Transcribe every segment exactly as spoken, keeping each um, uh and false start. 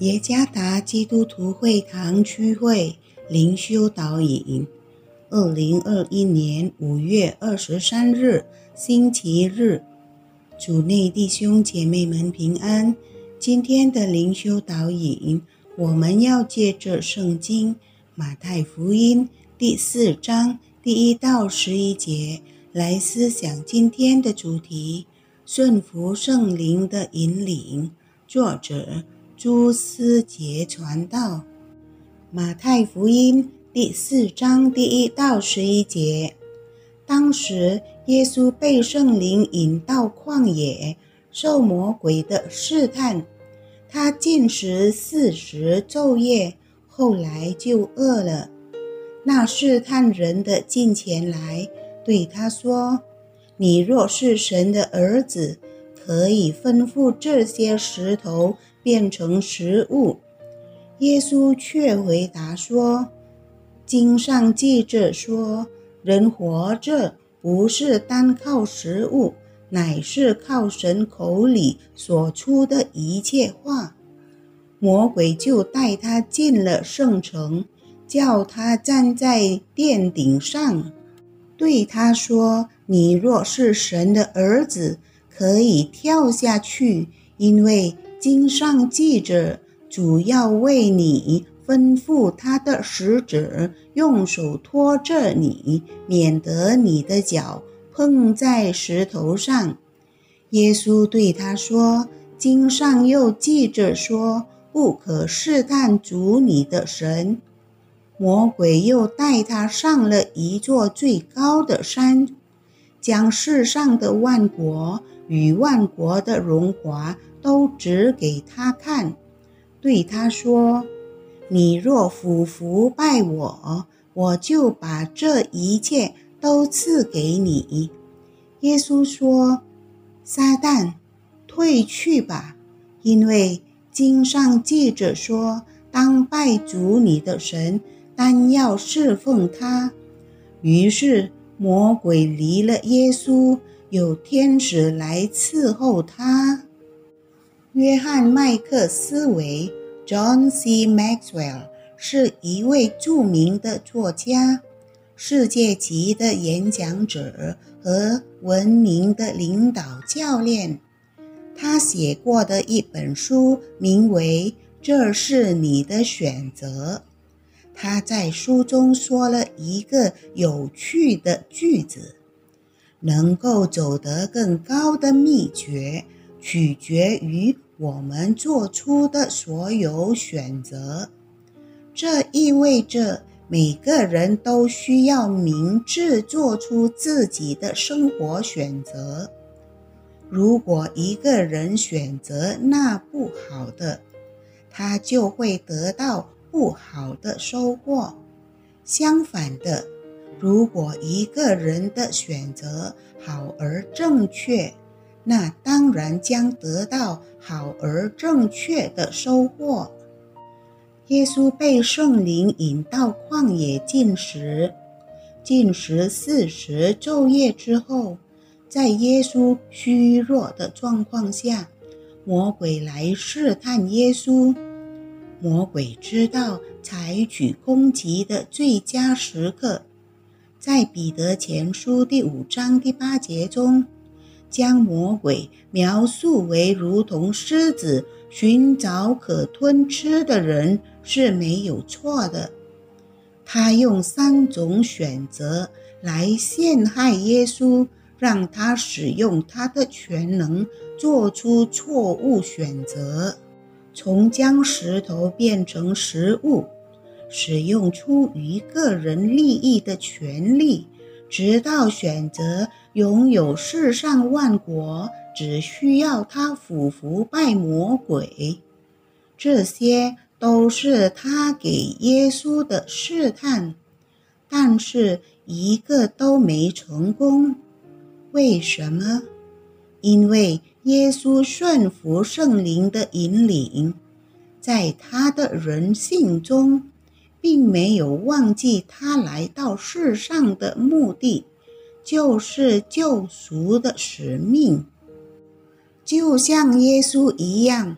耶加达基督徒会堂区会灵修导引，二零二一年五月二十三日星期日，主内弟兄姐妹们平安。今天的灵修导引，我们要借着圣经马太福音第四章第一到十一节来思想今天的主题：顺服圣灵的引领。作者朱思杰传道。马太福音第四章第一到十一节，当时耶稣被圣灵引到旷野，受魔鬼的试探。他禁食四十昼夜，后来就饿了。那试探人的近前来，对他说：你若是神的儿子，可以吩咐这些石头变成食物。耶稣却回答说：经上记着说，人活着不是单靠食物，乃是靠神口里所出的一切话。魔鬼就带他进了圣城，叫他站在殿顶上，对他说：你若是神的儿子，可以跳下去，因为经上记着，主要为你吩咐他的使者用手托着你，免得你的脚碰在石头上。耶稣对他说：经上又记着说，不可试探主你的神。魔鬼又带他上了一座最高的山，将世上的万国与万国的荣华都指给他看，对他说：你若俯伏拜我，我就把这一切都赐给你。耶稣说：撒旦，退去吧，因为经上记着说，当拜主你的神，单要侍奉他。于是魔鬼离了耶稣，有天使来伺候他。约翰麦克斯韦 John C. Maxwell 是一位著名的作家，世界级的演讲者和闻名的领导教练。他写过的一本书名为《这是你的选择》。他在书中说了一个有趣的句子：能够走得更高的秘诀，取决于我们做出的所有选择。这意味着每个人都需要明智做出自己的生活选择。如果一个人选择那不好的，他就会得到不好的收获。相反的，如果一个人的选择好而正确，那当然将得到好而正确的收获。耶稣被圣灵引到旷野禁食，禁食四十昼夜之后，在耶稣虚弱的状况下，魔鬼来试探耶稣。魔鬼知道采取攻击的最佳时刻，在彼得前书第五章第八节中，将魔鬼描述为如同狮子寻找可吞吃的人是没有错的。他用三种选择来陷害耶稣，让他使用他的全能做出错误选择，从将石头变成食物，使用出于个人利益的权利，直到选择拥有世上万国，只需要他俯伏拜魔鬼。这些都是他给耶稣的试探，但是一个都没成功。为什么？因为耶稣顺服圣灵的引领，在他的人性中，并没有忘记他来到世上的目的，就是救赎的使命。就像耶稣一样，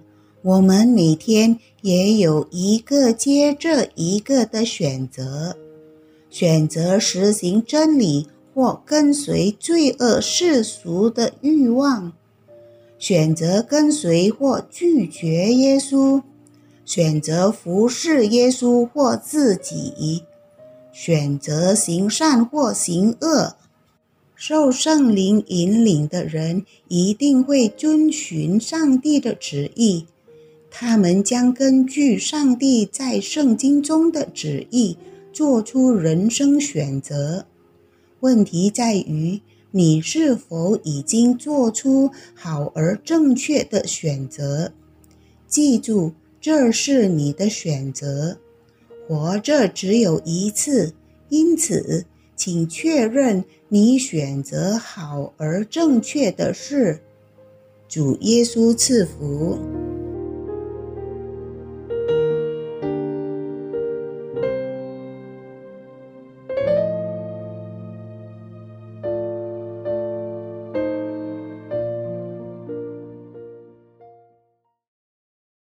我们每天也有一个接着一个的选择，选择实行真理或跟随罪恶世俗的欲望，选择跟随或拒绝耶稣，选择服侍耶稣或自己，选择行善或行恶。受圣灵引领的人一定会遵循上帝的旨意，他们将根据上帝在圣经中的旨意做出人生选择。问题在于，你是否已经做出好而正确的选择？记住，这是你的选择。活着只有一次，因此，请确认你选择好而正确的事。主耶稣赐福。